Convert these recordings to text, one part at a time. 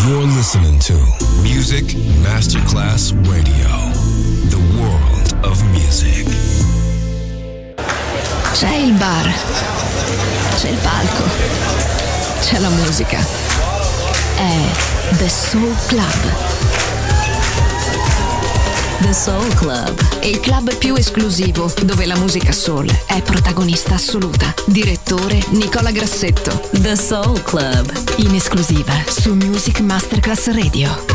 You're listening to Music Masterclass Radio, the world of music. C'è il bar, c'è il palco, c'è la musica. È The Soul Club. The Soul Club, il club più esclusivo dove la musica soul è protagonista assoluta. Direttore Nicola Grassetto. The Soul Club, in esclusiva su Music Masterclass Radio.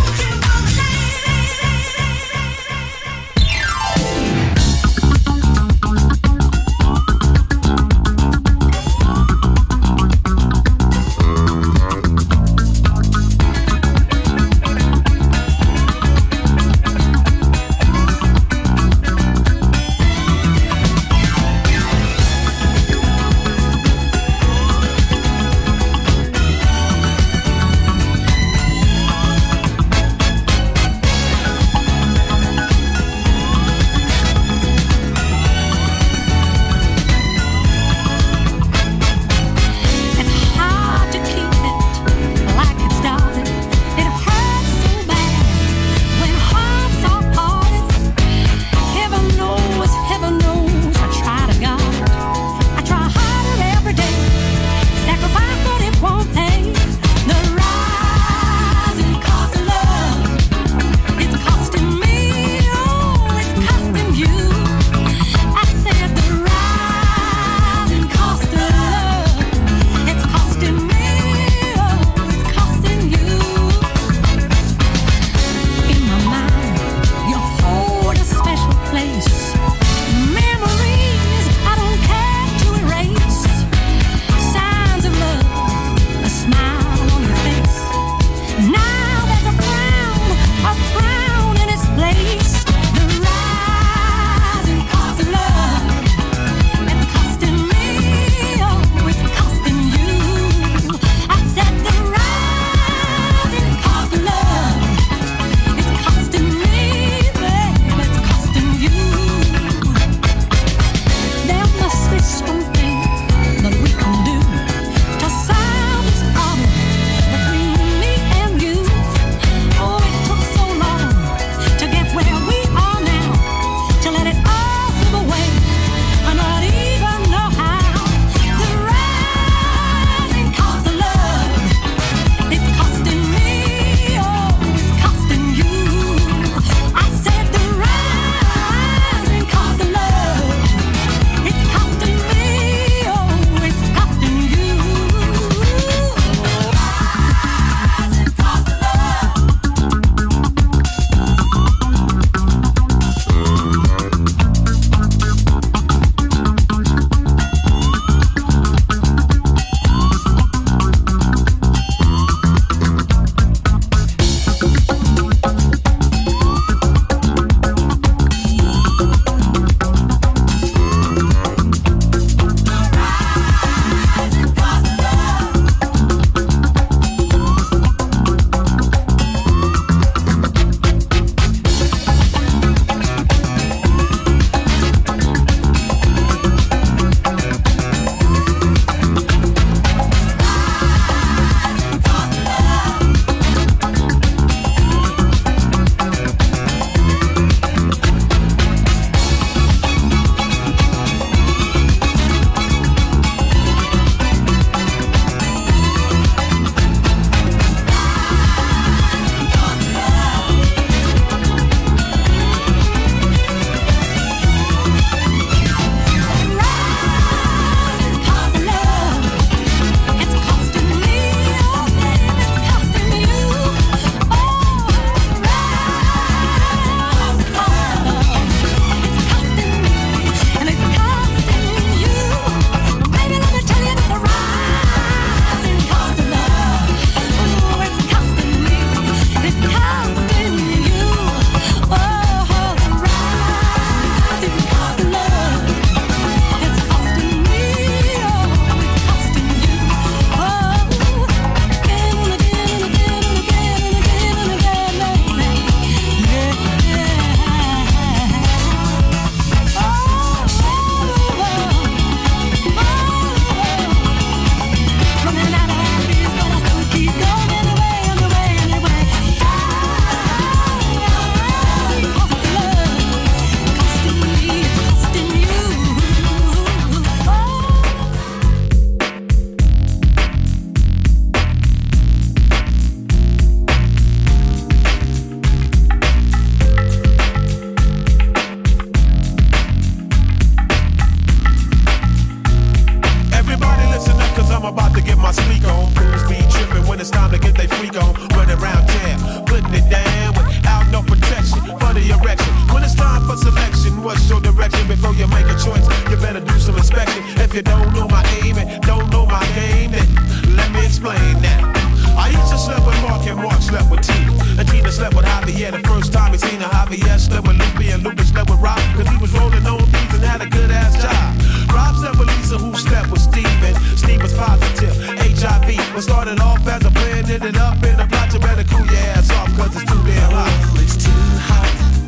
ended it up in a plot. You better cool your ass off, cause it's too damn hot. Oh, it's too hot,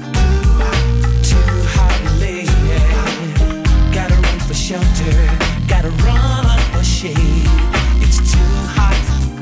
lady. Gotta run for shelter, gotta run for shade. It's too hot,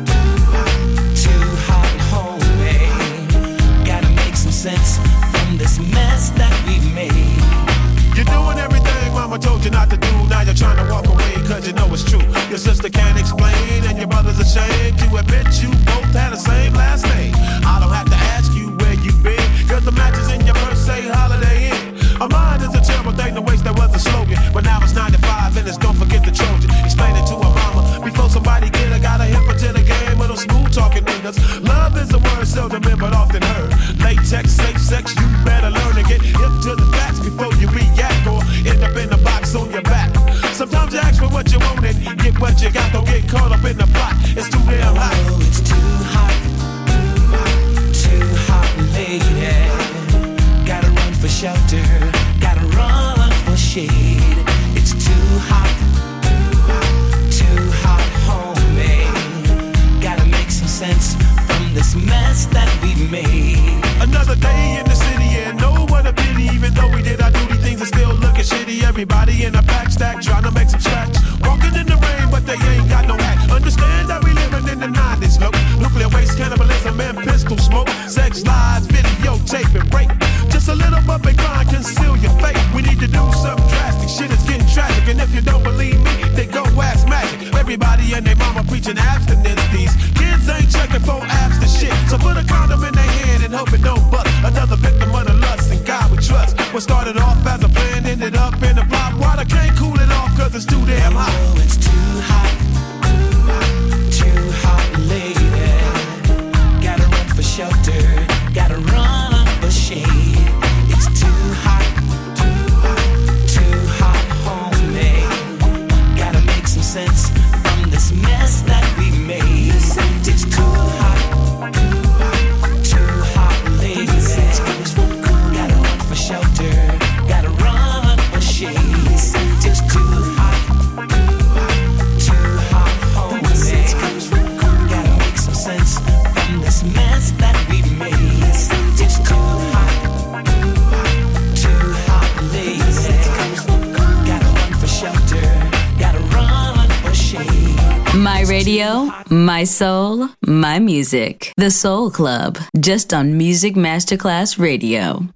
homie. Gotta make some sense from this mess that we made. You're doing everything mama told you not to do. Now you're trying to walk away cause you know it's true. Your sister can't explain and your brother's ashamed to admit you both had the same last name. I don't have to ask you where you've been, cause the matches in your purse say Holiday Inn. A mind is a terrible thing to waste, that was a slogan. But now it's 9 to 5 and it's don't forget the Trojan. Explain it to a mama before somebody get her. Gotta hip her to the game of those smooth talking niggas. Love is a word seldom in but often heard. Latex, safe sex, you better learn to get hip to the facts before you react or end up in the box on your back. Sometimes you ask for what you want and get what you got. Don't get caught up in the plot, it's too damn hot. Oh, it's too hot, lady. Gotta run for shelter, gotta run for shade. It's too hot, homie. Gotta make some sense from this mess that we made. Another day in the city and no one a pity. Even though we did our duty, things are still looking shitty. Everybody in a pack stack trying to make some scratch. Walking in the rain, but they ain't got no hat. Understand that we living in the 90s, look. Nuclear waste, cannibalism, and pistol smoke. Sex, lies, videotape, and rape. Just a little bump and grind, conceal your fate. We need to do something drastic, shit is getting tragic. And if you don't believe me, then go ask Magic. Everybody and their mama preaching abstinence. These kids ain't checking for apps to shit. So put a condom in their hand and hope it don't bust. Another victim of the lust and God we trust. What started off as a plan ended up in a plot. Water can't cool it off cause it's too damn hot. Oh, it's too hot, lady. Gotta run for shelter, gotta run for shade. It's too hot, homie. Gotta make some sense from this mess that we made. It's too hot, lady. Gotta run for shelter, gotta run for shade. It's too hot, homie. Gotta make some sense from this mess that we made. It's too hot, lady. Gotta run for shelter, gotta run for shade. My radio, my soul, my music. The Soul Club, just on Music Masterclass Radio.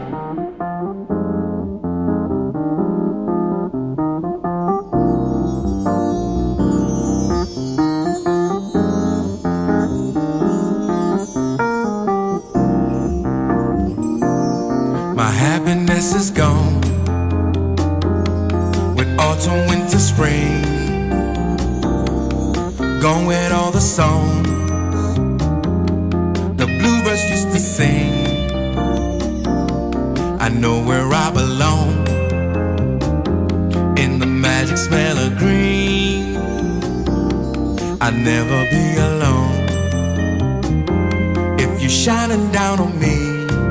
My happiness is gone with autumn, winter, spring. Gone with all the songs the bluebirds used to sing. I know where I belong, in the magic smell of green. I'll never be alone if you're shining down on me.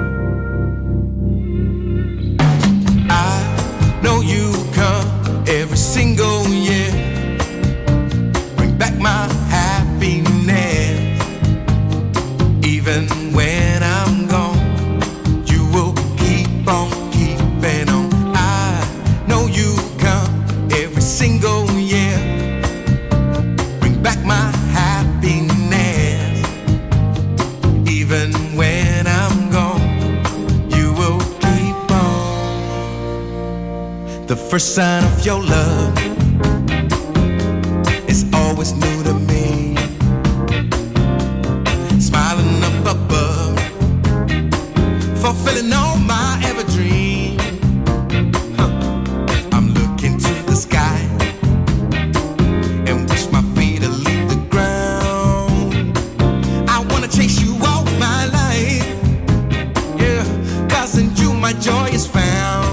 Know you come every single year, bring back my happiness. Even when I'm gone, you will keep on keeping on. I know you come every single year, bring back my happiness. Even when I'm gone, you will keep on. The first sign of your love is always new to me. Smiling up above, fulfilling all my ever dreams. I'm looking to the sky and wish my feet to leave the ground. I wanna chase you all my life, yeah, 'cause in you my joy is found.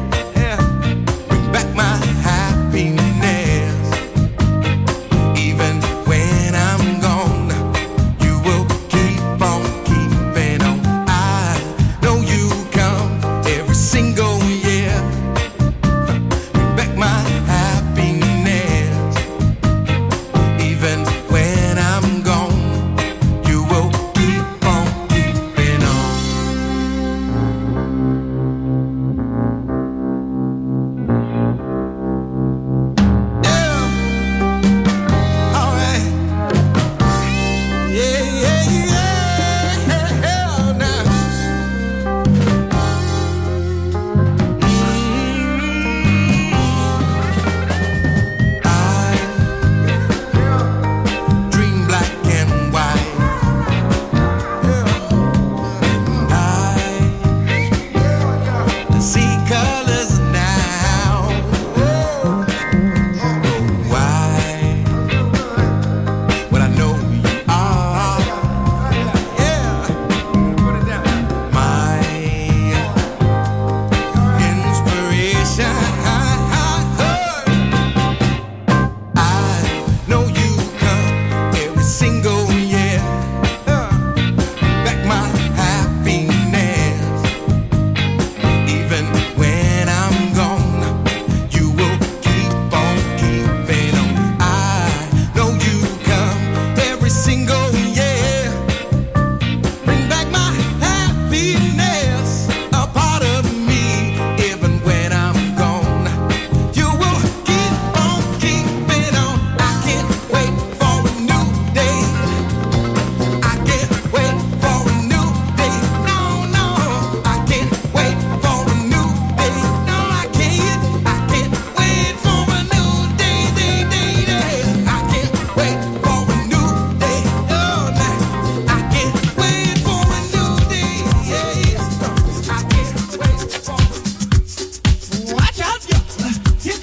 Even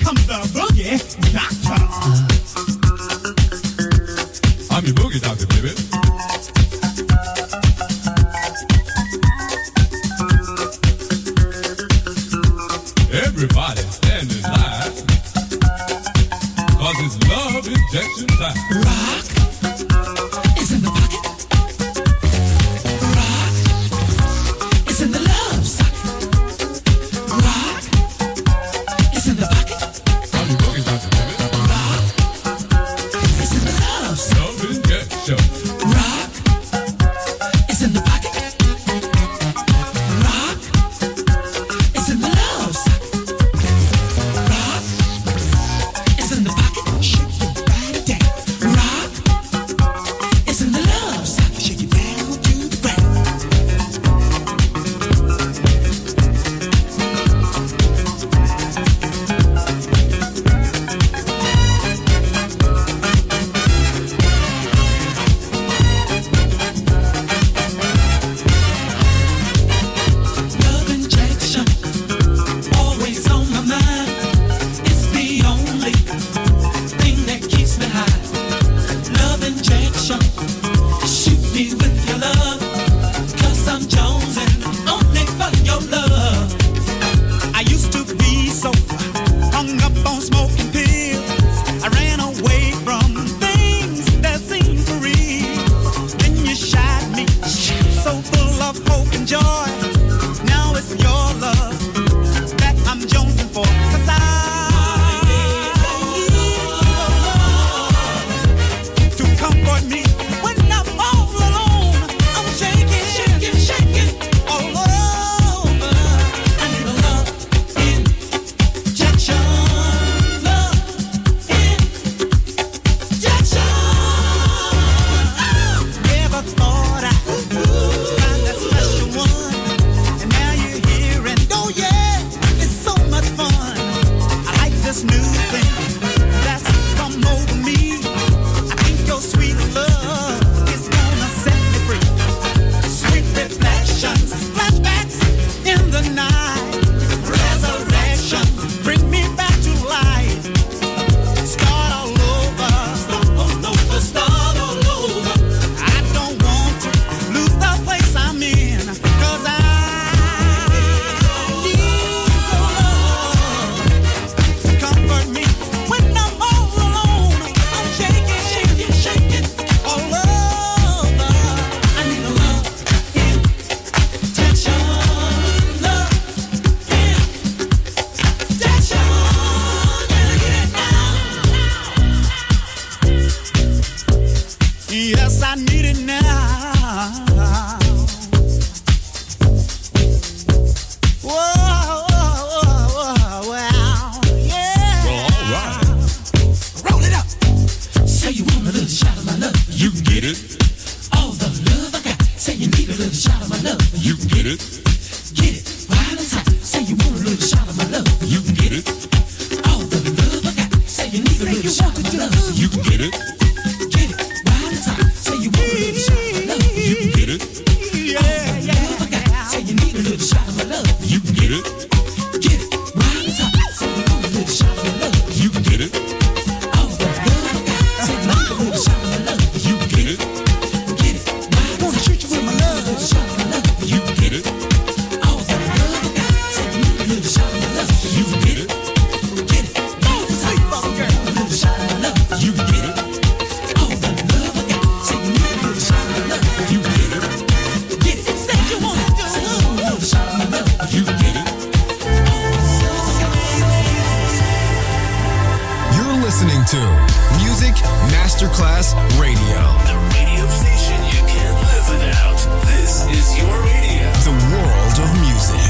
comes the boogie doctor. I'm your boogie doctor, baby. Everybody stand in line, 'cause it's love injection time. Rock is in the pocket. Rock is in the love socket. Rock is in the pocket. I'm your boogie doctor, baby. Rock is in the love socket. Love injection. Rock is in the pocket. Rock is in the love socket. Rock is in the pocket. Shake your body down. Rock is in the love socket. Shake it down to the ground. Love injection, always on my mind. It's the only thing that keeps me high. Love injection, shoot me with your love, 'cause I'm jonesing only for your love. I used to be so hung up on smoking pills. I ran away from things that seemed for real. Then you shot me, so full of hope and joy. Now it's your love that I'm jonesing for. 'Cause I need your love to comfort me when I'm all alone. I'm shaking, shaking, shaking all over. I need a love Injection, love injection. Never thought I'd find that special one, and now you're here, and oh yeah, it's so much fun. I like this new thing that's come over me. I think your sweet love is gonna set me free. Sweet reflections, flashbacks in the night, resurrection, bring me back to life. Start all over, start all over, start all over. I don't want to lose the place I'm in, 'cause I need your love to comfort me when I'm all alone. I'm shaking, shaking, shaking all over. I need a love Injection, love injection. Gotta get it now. Yes, I need it now. Whoa, wow, yeah. Well, all right. Roll it up. Say you want a little shot of my love. You can get it. All the love I got. Say you need a little shot of my love. You can get it. Get it right on top. Say you want a little shot of my love. You can get it. All the love I got. Say you need a little shot of my love. You can get it. Get it right on top. Say you want a little shot of my love. You can get it. Yeah, Love I got. Say you need a little shot of my love. You can get it. Get it right on top. Say you want a little shot of my love. You can get it. All the love I got. Say you need a little shot of my love. You can get it. Get it right on top. treat you with my love. Little shot of my love. You can get it. All the love I got. Say you need a little shot of my love. You can get it. Get it right on top. Say you want a little shot of my love. You can get it. All the love I got. Say you need a little shot of my love. You can get it. Get it. Say you want a little shot of my love. You can get it. You're listening to Music Masterclass Radio. The radio station you can't live without. This is your radio. The world of music.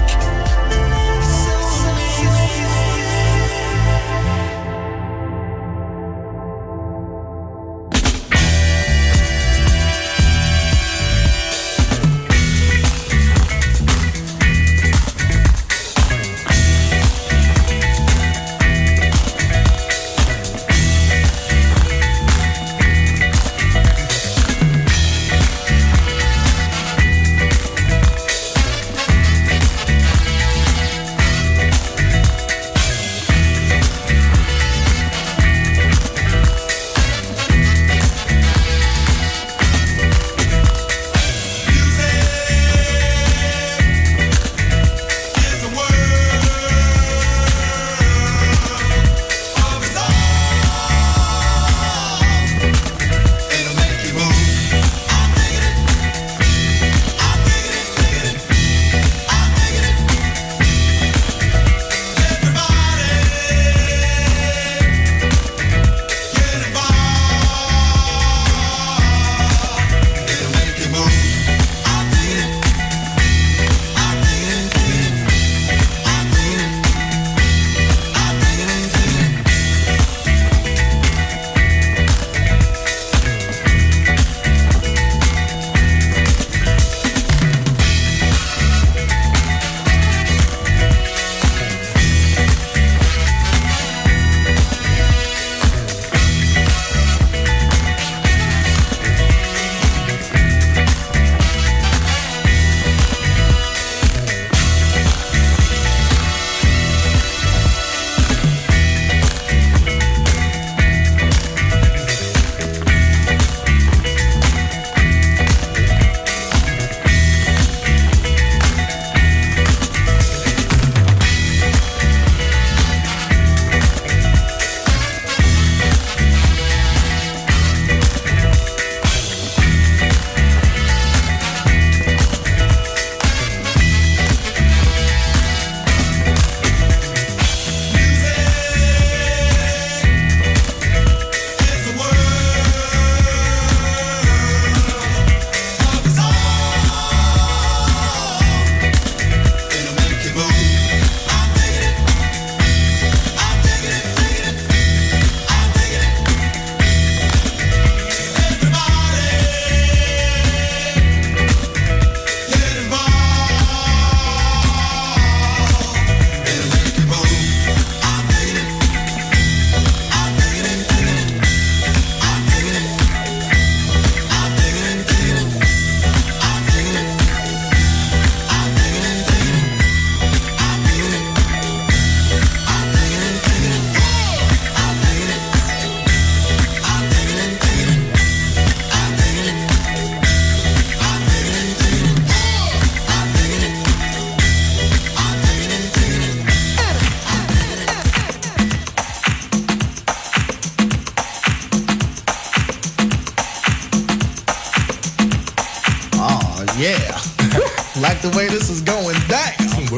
Yeah. Like the way this is going down.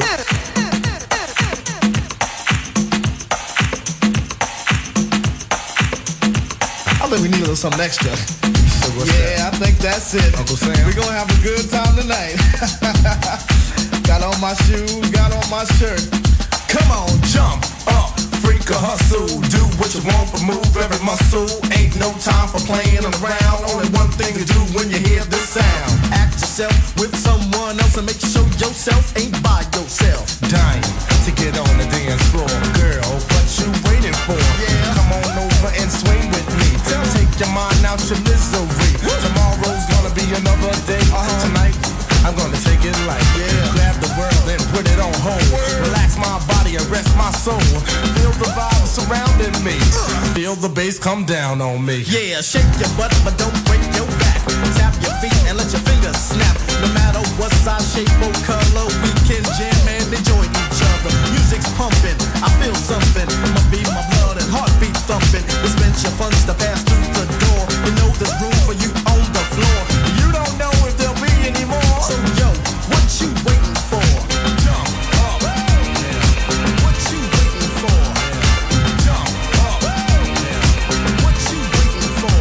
I think we need a little something extra. Yeah, I think that's it. Uncle Sam. We're gonna have a good time tonight. Got on my shoes, got on my shirt. Come on, jump up, freak or hustle. Do what you want, but move every muscle. Ain't no time for playing around. Only one thing to do when you hear this sound. Act yourself with someone else and make sure yourself ain't by yourself. Dying to get on the dance floor. Girl, what you waiting for? Yeah. Come on over and swing with me. Take your mind out your misery. Tomorrow's gonna be another day. Tonight, I'm gonna take it light. Grab the world and put it on hold. Relax my body and rest my soul. Feel the vibe surrounding me. Feel the bass come down on me. Yeah, shake your butt, but don't break your back. Tap your feet and let your fingers snap. No matter what size, shape, or color, we can jam and enjoy each other. Music's pumping, I feel something. My beat, my blood, and heartbeat thumping. Dispense your funds to pass through the door. You know there's room for you on the floor. You don't know if there'll be any more. So yo, what you waiting for? Jump up. What you waiting for? Jump up. What you waiting for?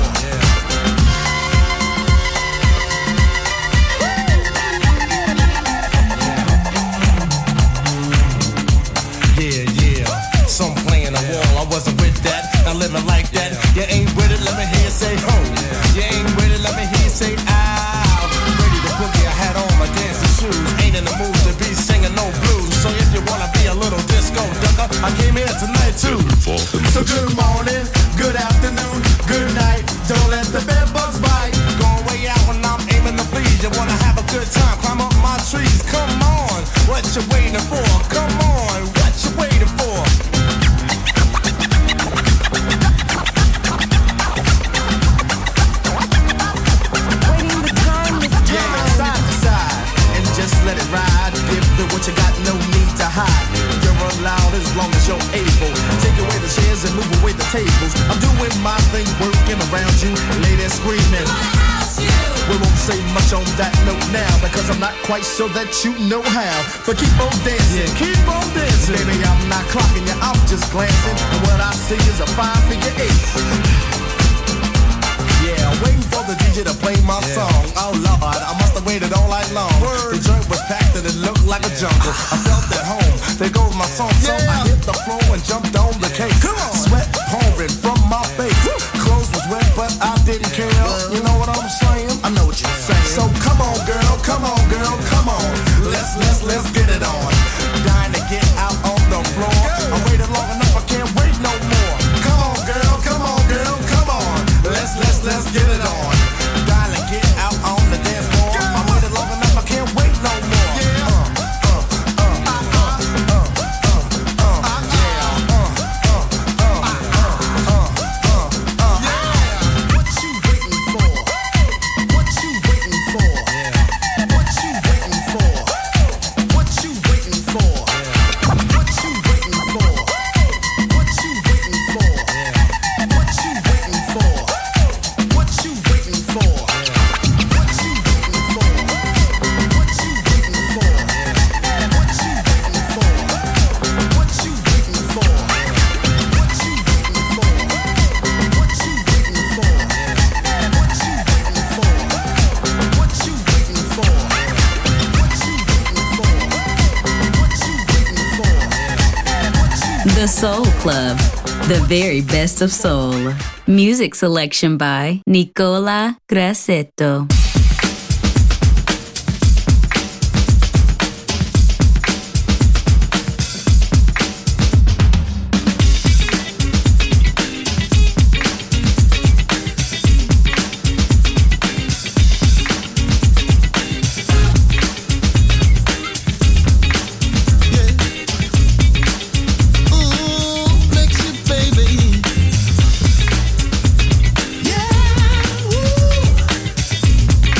Yeah. Some playing a wall, I wasn't with that. Not living like that. You ain't with it, let me hear you say ho. You ain't with it, let me hear you say ow. Ready to boogie, I had on my dancing shoes. Ain't in the mood to be singing no blues. So if you wanna be a little disco ducker, I came here tonight too. So good morning, good afternoon, good night. Don't let the bed bugs bite. Going way out when I'm aiming to please. You wanna have a good time, climb up my trees. Come on, what you waiting for? Come on, what you waiting for? Just let it ride, give the what you got, no need to hide. You're allowed as long as you're able. Take away the chairs and move away the tables. I'm doing my thing, working around you, ladies screaming. We won't say much on that note now, because I'm not quite sure that you know how. But keep on dancing, keep on dancing. Baby, I'm not clocking you, I'm just glancing. And what I see is a 5-figure 8. Yeah, waiting for the DJ to play my song. Oh Lord, I must have waited all night long. The joint was packed and it looked like a jungle. I felt at home, there goes my song. So I hit the floor and jumped on the cake. Sweat pouring from my face. Clothes was wet, but I didn't care. You know what I'm saying? I know what you're saying. So come on, girl, come on, girl, come on. Let's get it on. Dying to get out on the floor. I waited long enough, I can't wait no more. Come on, girl, come on, girl, come on. Let's get it on. Dying to get out on the dance floor. I waited long enough, I can't wait no more. The Soul Club, the very best of soul. Music selection by Nicola Grassetto. Yeah, woo.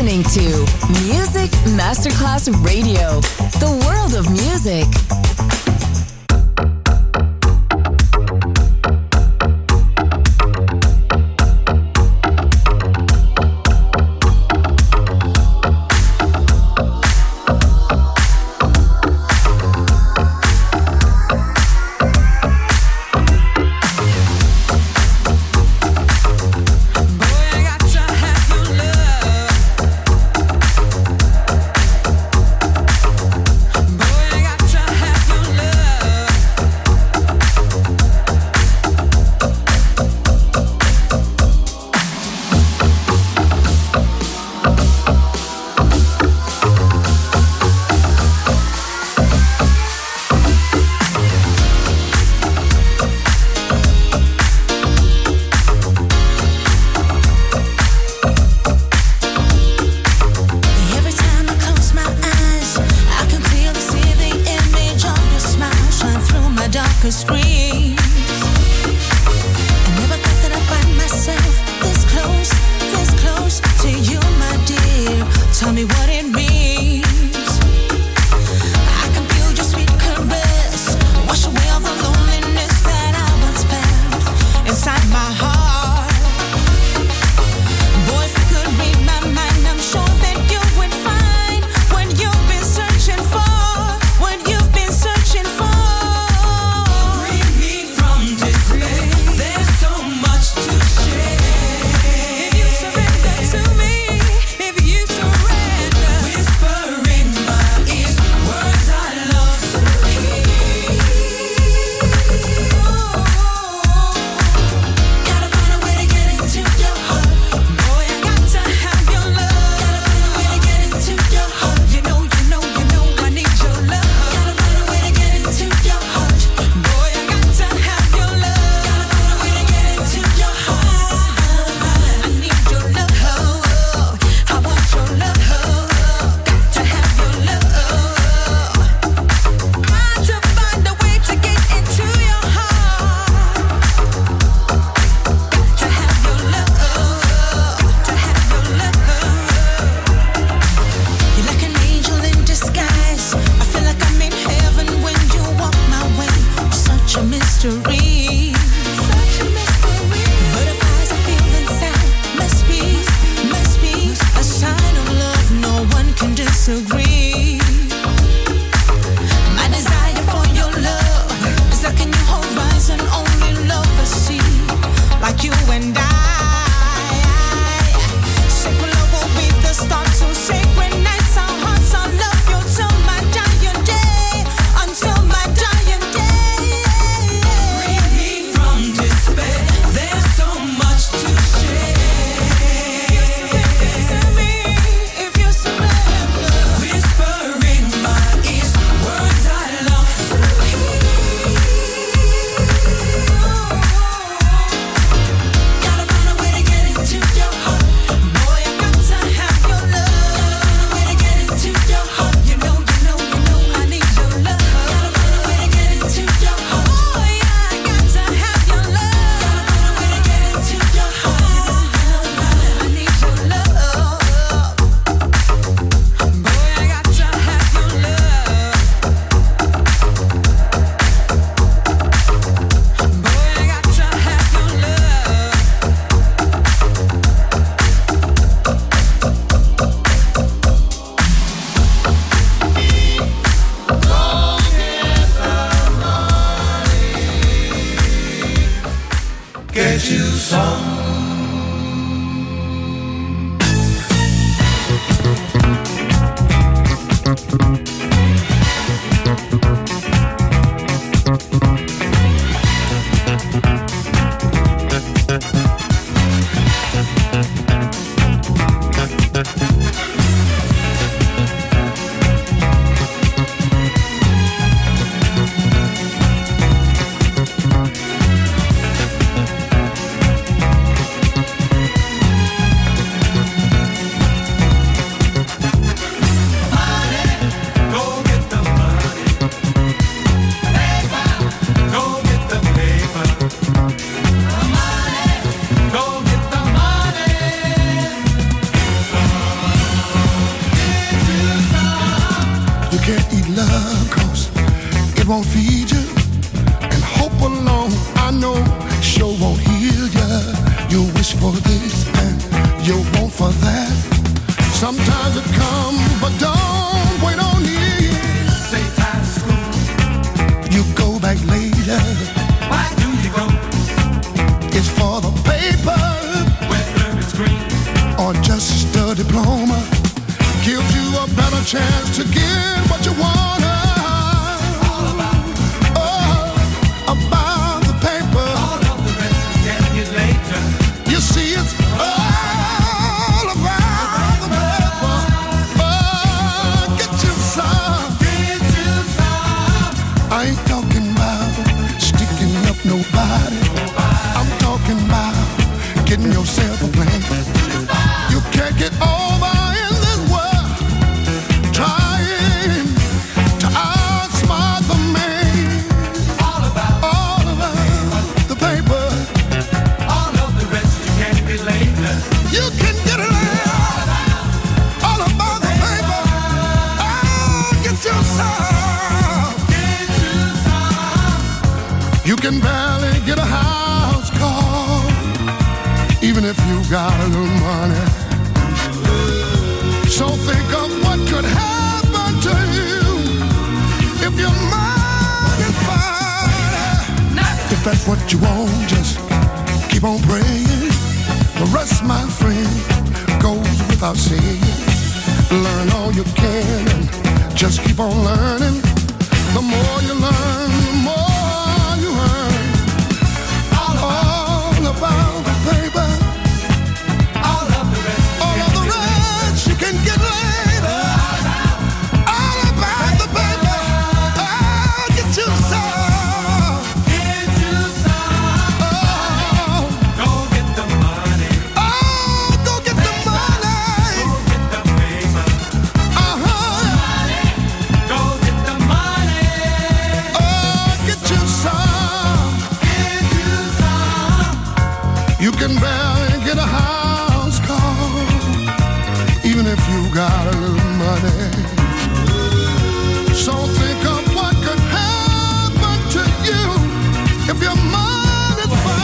listening to Music Masterclass Radio, the world of music. Boy, I got to have Sometimes it comes, but don't wait on it. Say time to school. You go back later. Why do you go? It's for the paper. Where is green. Or just a diploma. Gives you a better chance to get what you want. All about the paper. All of the rest is getting it later. You see, it's all about the paper. Get you some. Get you some. I ain't talking about sticking up nobody. I'm talking about getting yourself a plan. You can't get over in this world trying to outsmart the man. All about the paper. All of the rest you can get later. You can get it later. All about the paper. Get you some. Get you some. You can barely get a house call, even if you got a little money. So think of what could happen to you if your mind is fine. If that's what you want, just keep on praying. The rest, my friend, goes without saying. Learn all you can and just keep on learning. The more you learn, the more you earn. All about the paper. All of the rest. All of the rest you can get later. All about the paper. Get you some. Get you some. Go get the money. Go get the money. Go get the paper. Go get the money. Get you some. Get you some. You can barely get a house call, even if you got a little money. So think of what could happen to you if your mind is fine.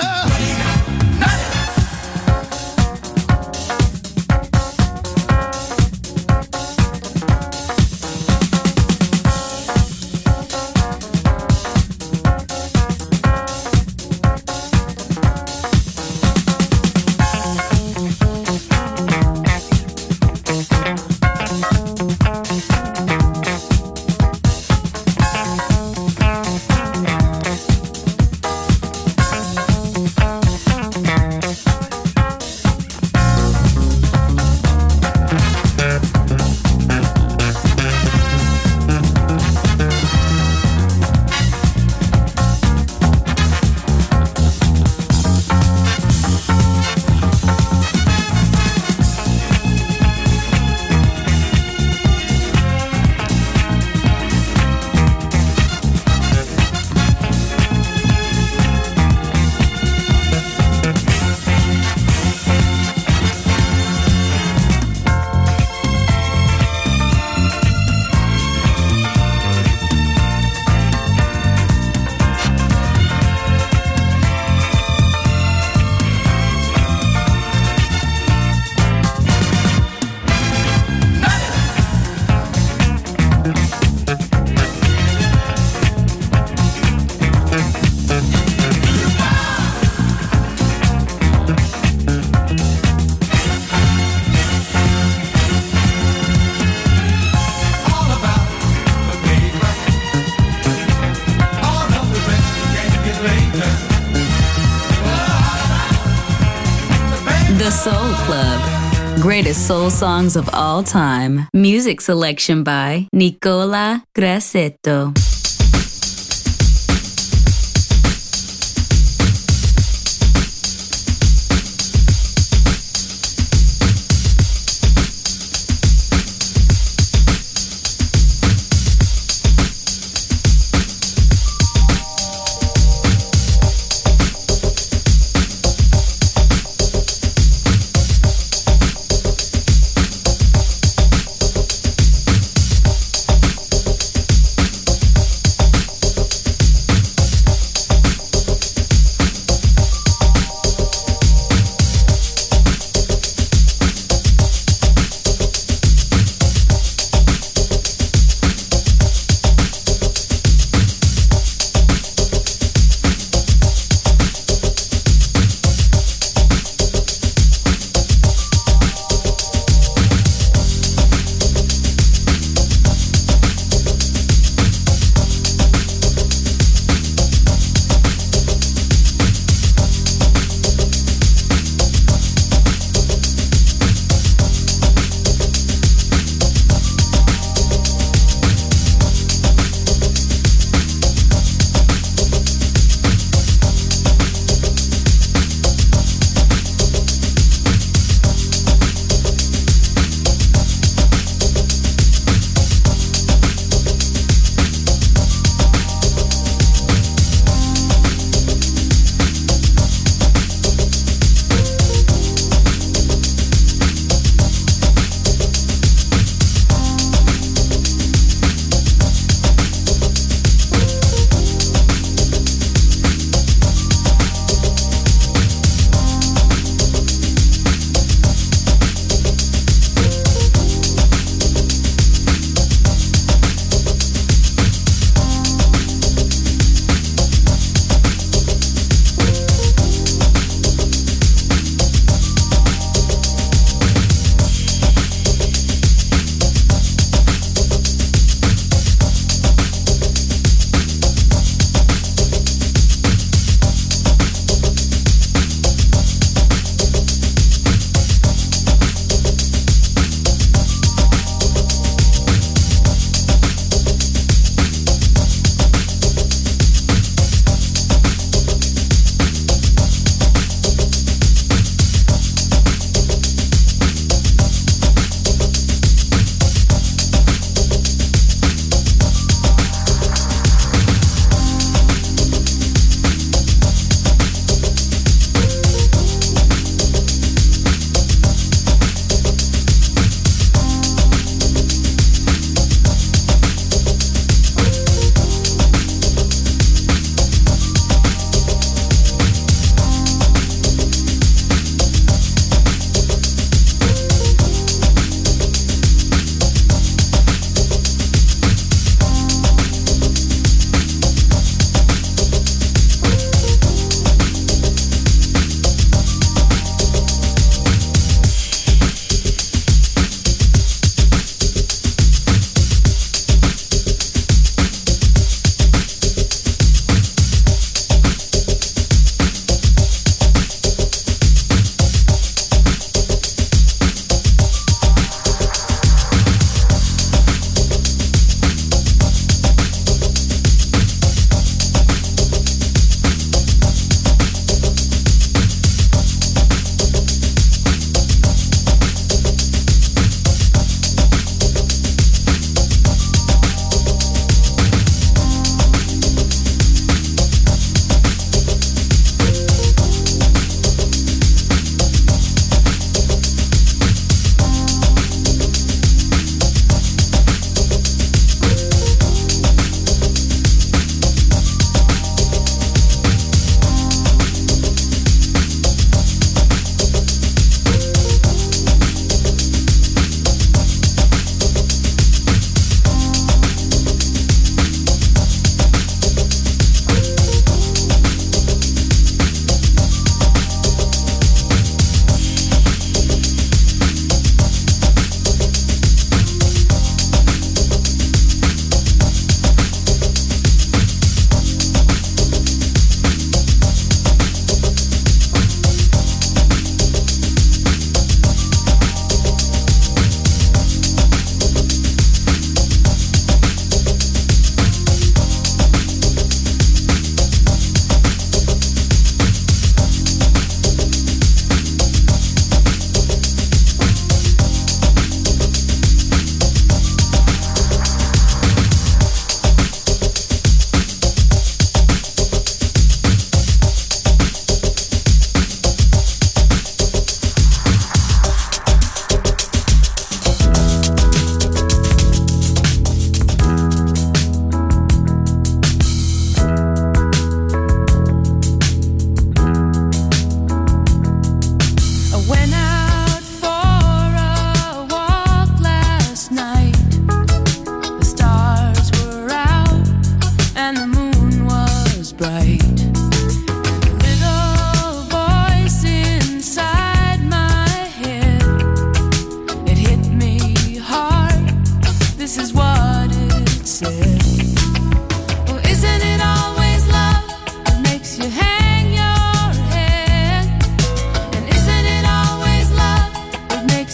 The Soul Club. Greatest soul songs of all time. Music selection by Nicola Grassetto.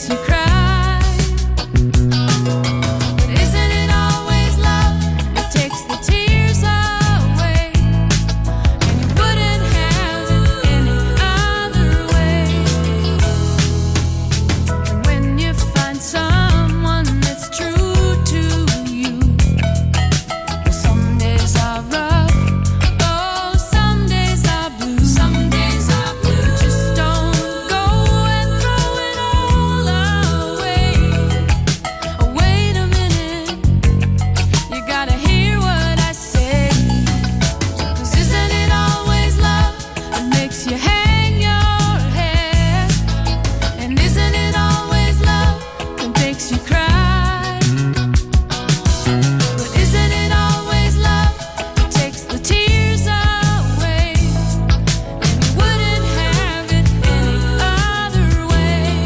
makes you cry. But isn't it always love that takes the tears away? And you wouldn't have it any other way. And when you find someone that's true to you, well, some days are rough, oh, some days are blue. Some days are blue. Just don't go and throw it all away. Oh, wait a minute, you gotta hear what I say. 'Cause isn't it always love that makes you hang your head? And isn't it always love that makes you cry? But isn't it always love that takes the tears away? And you wouldn't have it any other way.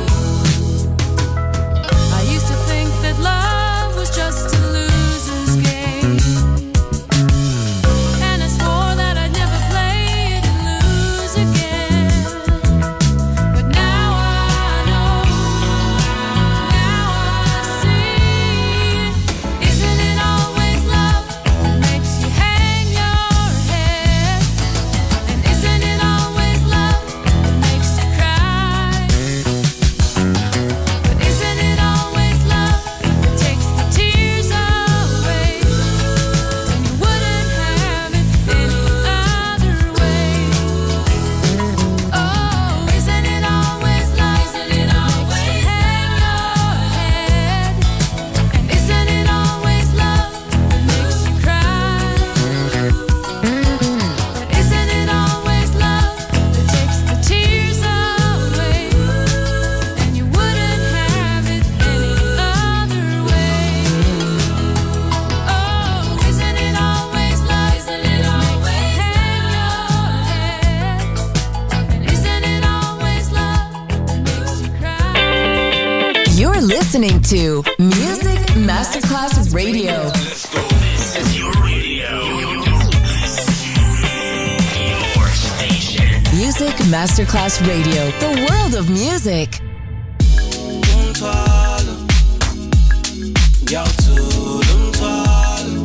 I used to think that love was just a loser's game, and I swore that I'd never play it and lose again. But now I know, now I see. Isn't it always love that makes you hang your head? And isn't it always love that makes you cry? But isn't it always love that takes the tears away? And you wouldn't have it any other way. Oh, isn't it always love that makes you hang your head? And isn't it always love that makes you cry? But isn't it always love that takes the tears away? And you wouldn't have it any other way. Oh, isn't it always love that makes you hang your head? And isn't it always love that makes you cry? You're listening to Music Masterclass Radio. This is your radio. Your station. Music Masterclass Radio. The world of music. Yo, to them twirl.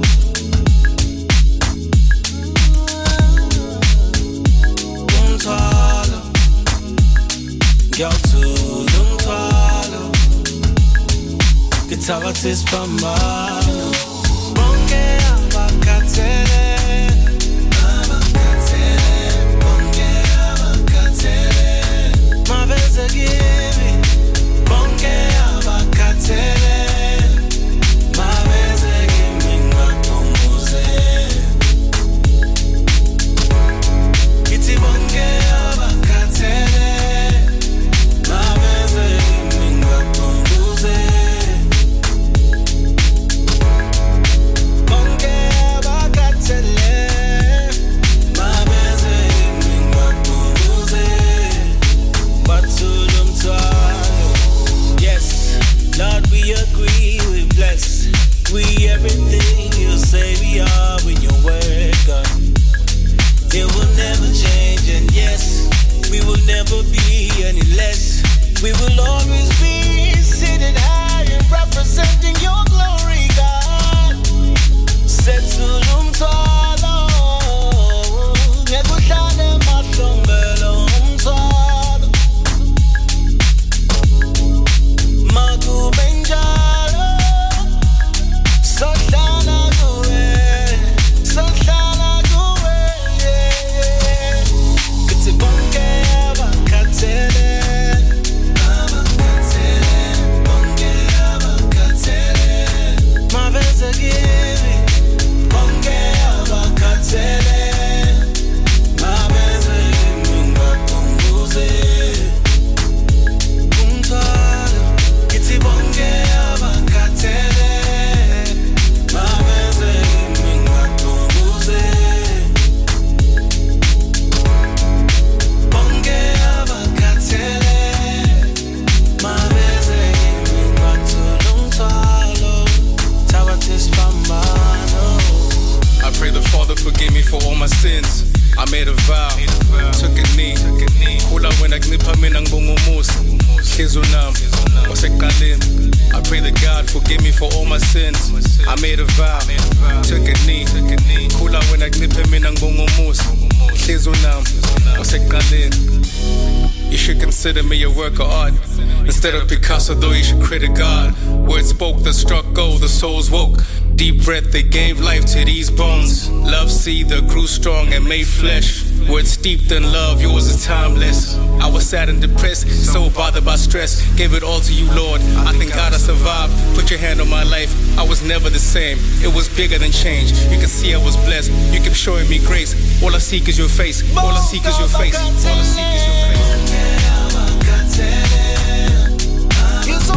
Twirl. Yo, to them twirl. Guitar artist Pamano. Bonge abakatele. Bonge abakatele. Maveze give. Bonge abakatele. Maveze give ngakumbuze. Iti bonge abakatele. Maveze give ngakumbuze. Bonge abakatele. Maveze give ngakumbuze. Batulum twalo. Yes, Lord, we agree, we bless. We everything you say we are when your word gone. It will never change, and yes, we will never be any less. We will always be seated high and representing your glory, God. Setulum twalo. Nekuhlale mahlombelo umthwalo. Makubenjalo. I pray that God forgive me for all my sins. I made a vow, took a knee. Kula when I knip him in Angongumusa. You should consider me a work of art. Instead of Picasso, though, you should critic God. Words spoke that struck gold, the souls woke. Deep breath, they gave life to these bones. Love seed that grew strong and made flesh. Words steeped in love, yours is timeless. I was sad and depressed, so bothered by stress. Gave it all to you, Lord. I thank God I survived. Put your hand on my life. I was never the same. It was bigger than change. You can see I was blessed. You kept showing me grace. All I seek is your face. All I seek is your face. All I seek is your face. You're so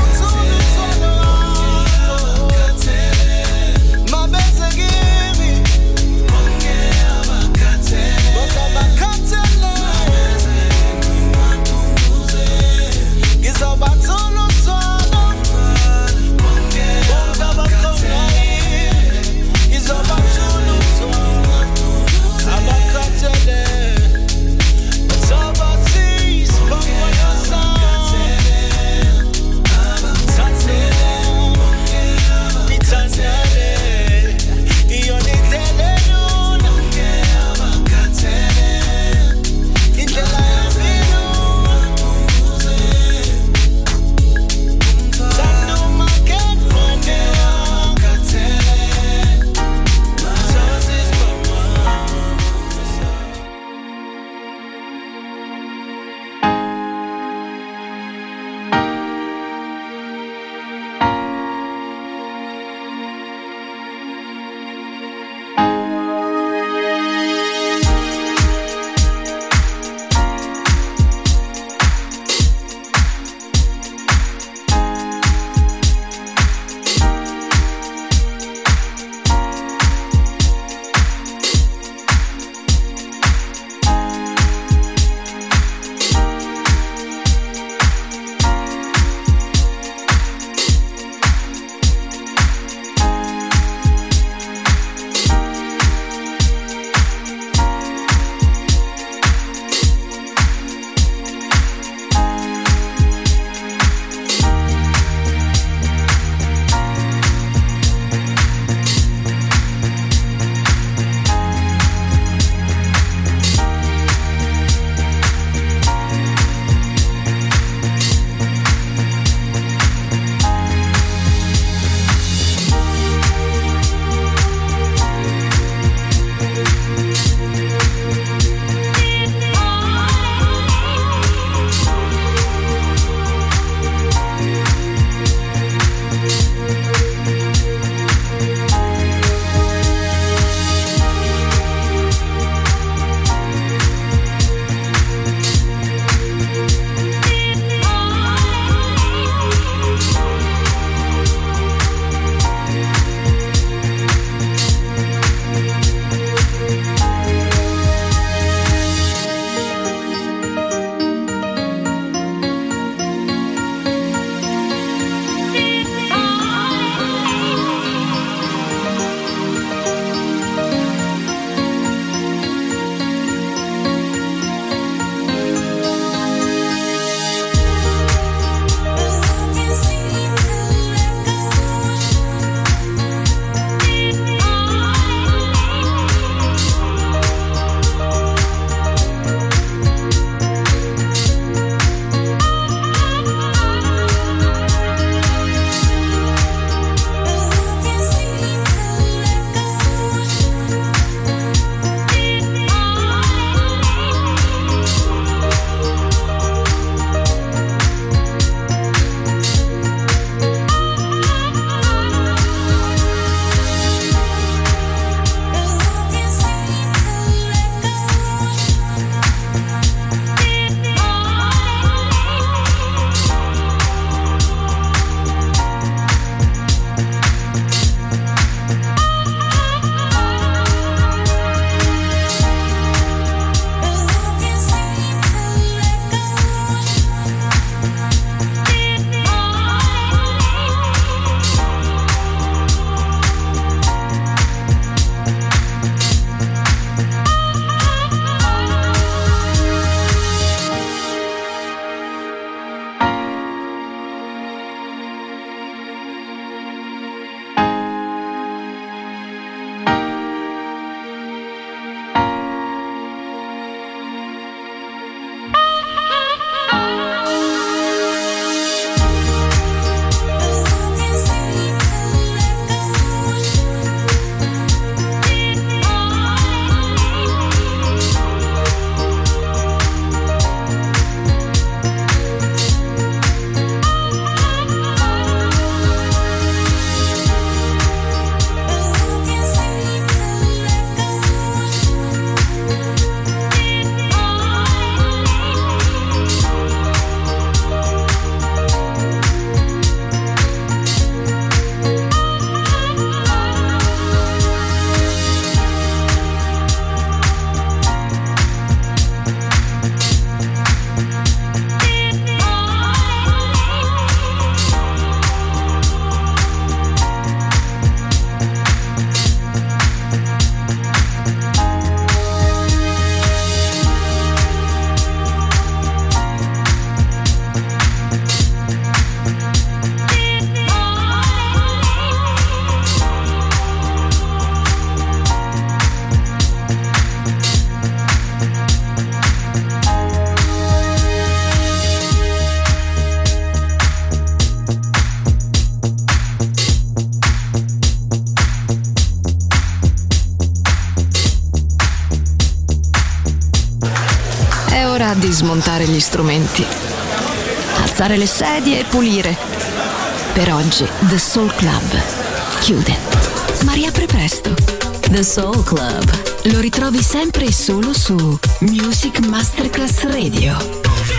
strumenti, alzare le sedie e pulire. Per oggi The Soul Club chiude, ma riapre presto. The Soul Club lo ritrovi sempre e solo su Music Masterclass Radio.